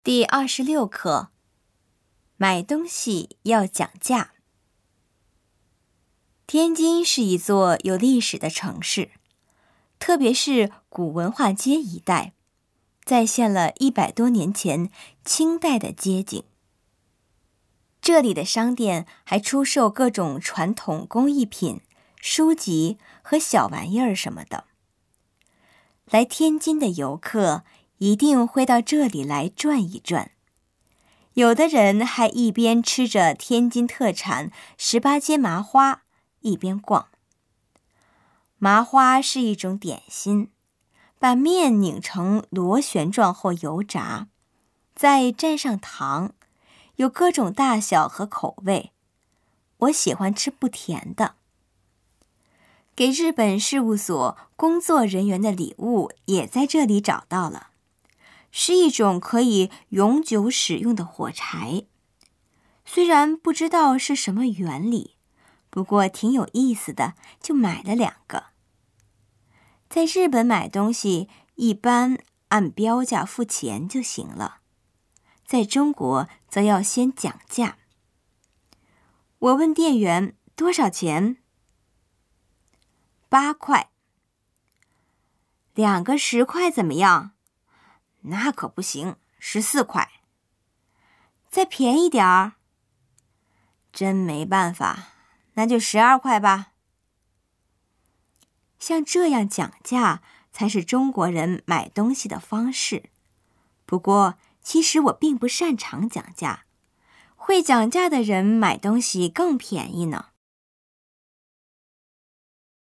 第26课，买东西要讲价。天津是一座有历史的城市，特别是古文化街一带，再现了100多年前清代的街景。这里的商店还出售各种传统工艺品、书籍和小玩意儿什么的。来天津的游客一定会到这里来转一转，有的人还一边吃着天津特产18街麻花，一边逛。麻花是一种点心，把面拧成螺旋状后油炸，再蘸上糖，有各种大小和口味。我喜欢吃不甜的。给日本事务所工作人员的礼物也在这里找到了，是一种可以永久使用的火柴。虽然不知道是什么原理，不过挺有意思的，就买了2个。在日本买东西一般按标价付钱就行了，在中国则要先讲价。我问店员多少钱？8块。2个10块怎么样？那可不行，14块。再便宜点儿？真没办法，那就12块吧。像这样讲价才是中国人买东西的方式。不过，其实我并不擅长讲价，会讲价的人买东西更便宜呢。